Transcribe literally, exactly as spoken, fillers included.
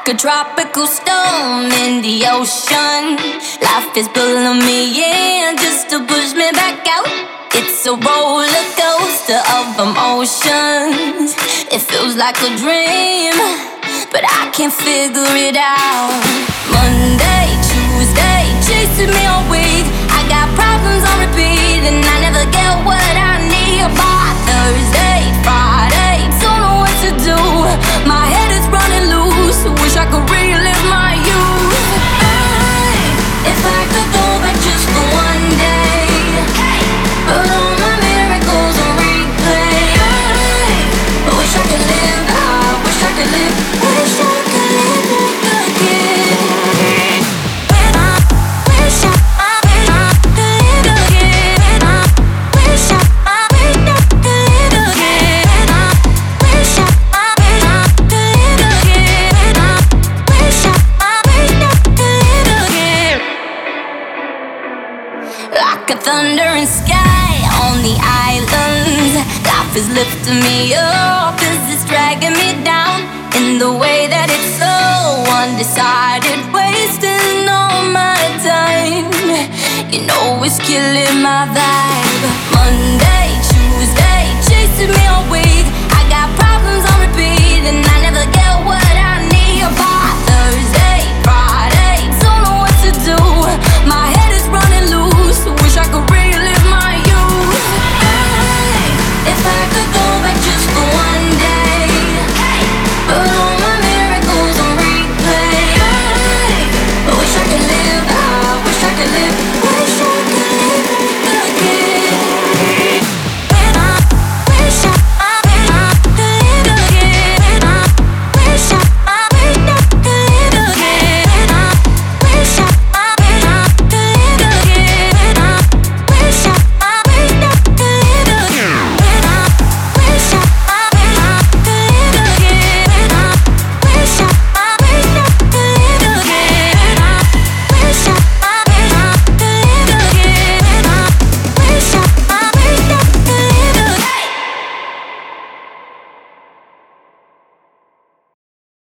like a tropical storm in the ocean. Life is pulling me in just to push me back out. It's a roller coaster of emotions. It feels like a dream, but I can't figure it out. Monday, Tuesday, chasing me all week. I got problems on repeat, and I never get what I need. By Thursday, Friday, don't know what to do. My head is running loose. Wish I could relive my youth. I, if I could go back just for one day, put all my miracles on replay. I wish I could live. I wish I could live. Wish I could live again. When I wish I, I wish I could live again. I wish I, I wish I could live again. I wish I, I wish I could live again. I wish I, I wish I could live again. Like a thundering sky on the islands, life is lifting me up as it's dragging me down. In the way that it's so undecided, wasting all my time. You know it's killing my vibe. Monday, Tuesday, chasing me all week.